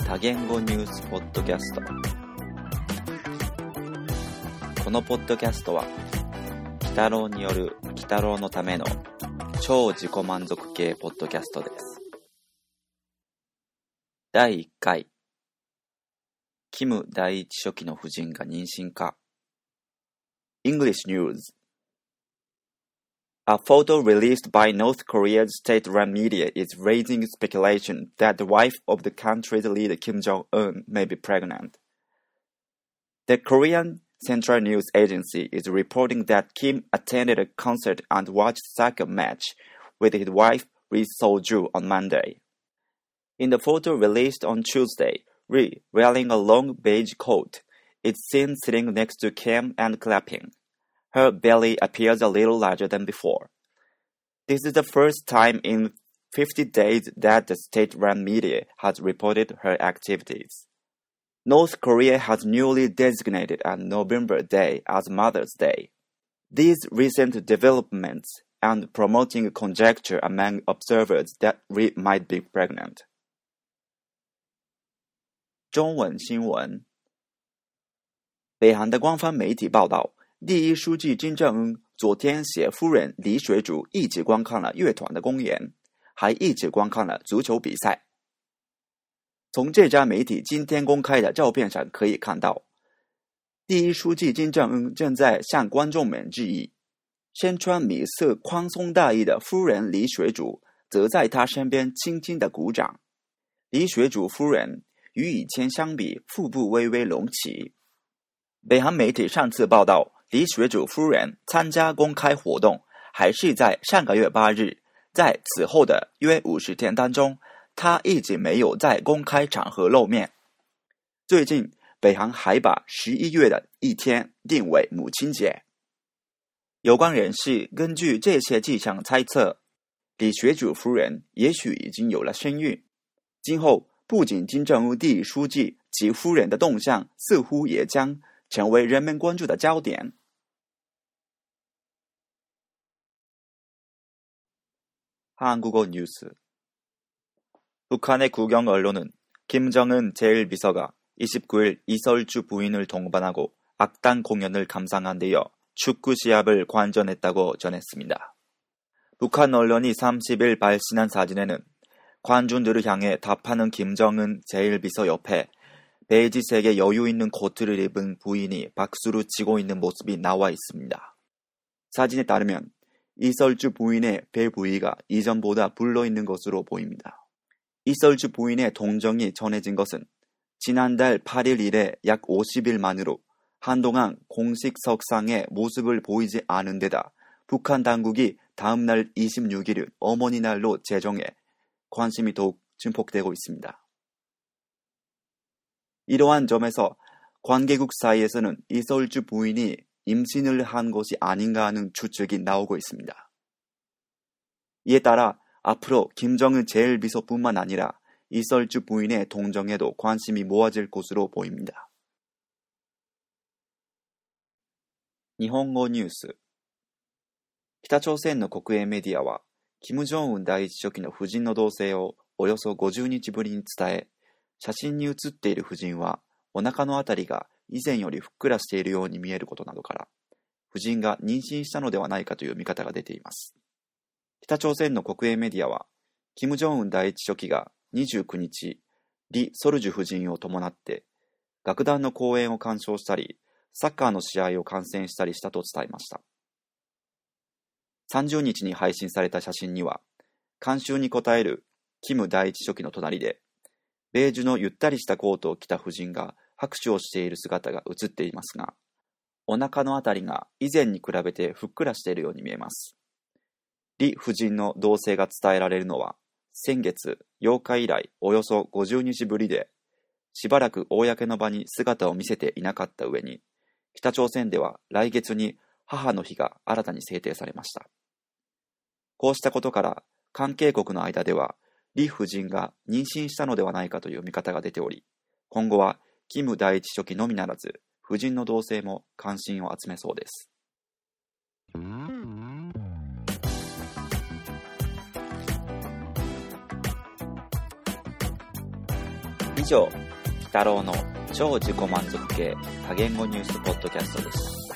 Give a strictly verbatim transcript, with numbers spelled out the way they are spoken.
多言語ニュースポッドキャスト。このポッドキャストは鬼太郎による鬼太郎のための超自己満足系ポッドキャストです。だいいっかい、キム第一書記の夫人が妊娠か。 English News. A photo released by North Korea's state-run media is raising speculation that the wife of the country's leader Kim Jong-un may be pregnant. The Korean Central News Agency is reporting that Kim attended a concert and watched a soccer match with his wife Ri Sol-ju on Monday. In the photo released on Tuesday, Ri, wearing a long beige coat, is seen sitting next to Kim and clapping. Her belly appears a little larger than before. This is the first time in fifty days that the state-run media has reported her activities. North Korea has newly designated a November day as Mother's Day. These recent developments and promoting conjecture among observers that Ri might be pregnant. 中文新闻。北韩的官方媒体报道，第一书记金正恩昨天携夫人李水煮一起观看了乐团的公演，还一起观看了足球比赛。从这家媒体今天公开的照片上可以看到，第一书记金正恩正在向观众们致意，身穿米色宽松大衣的夫人李水煮则在他身边轻轻地鼓掌。李水煮夫人与以前相比，腹部微微隆起。北韩媒体上次报道，李水煮夫人参加公开活动还是在上个月八日，在此后的约五十天当中，她一直没有在公开场合露面。最近，北韩还把十一月的一天定为母亲节。有关人士根据这些迹象猜测，李水煮夫人也许已经有了身孕。今后，不仅金正恩第一书记及夫人的动向似乎也将成为人们关注的焦点。한국어 뉴스. 북한의 국영 언론은 김정은 제일 비서가 이십구 일 이설주 부인을 동반하고 악단 공연을 감상한 뒤어 축구 시합을 관전했다고 전했습니다. 북한 언론이 삼십 일 발신한 사진에는 관중들을 향해 답하는 김정은 제일 비서 옆에 베이지색의 여유 있는 코트를 입은 부인이 박수를 치고 있는 모습이 나와 있습니다. 사진에 따르면 이설주 부인의 배 부위가 이전보다 불러있는 것으로 보입니다. 이설주 부인의 동정이 전해진 것은 지난달 팔 일 이래 약 오십 일 만으로 한동안 공식 석상에 모습을 보이지 않은 데다 북한 당국이 다음날 이십육 일을 어머니 날로 제정해 관심이 더욱 증폭되고 있습니다. 이러한 점에서 관계국 사이에서는 이설주 부인이 임신을 한 것이 아닌가 하는 추측이 나오고 있습니다. 이에 따라 앞으로 김정은 제일 비서뿐만 아니라 이설주 부인의 동정에도 관심이 모아질 것으로 보입니다. 일본어 뉴스. 北朝鮮の国営メディアは金正恩第一書記の夫人の動静をおよそごじゅうにちぶりに伝え、写真に写っている夫人はお腹のあたりが以前よりふっくらしているように見えることなどから、夫人が妊娠したのではないかという見方が出ています。北朝鮮の国営メディアは、金正恩第一書記がにじゅうくにち、リ・ソルジュ夫人を伴って楽団の公演を鑑賞したり、サッカーの試合を観戦したりしたと伝えました。さんじゅうにちに配信された写真には、観衆に応えるキム第一書記の隣で、ベージュのゆったりしたコートを着た夫人が拍手をしている姿が映っていますが、お腹のあたりが以前に比べてふっくらしているように見えます。リ夫人の動静が伝えられるのは、先月ようか以来およそごじゅうにちぶりで、しばらく公の場に姿を見せていなかった上に、北朝鮮では来月に母の日が新たに制定されました。こうしたことから、関係国の間では、リ夫人が妊娠したのではないかという見方が出ており、今後はキム第一書記のみならず、夫人の動静も関心を集めそうです。 以上、鬼太郎の超自己満足系多言語ニュースポッドキャストでした。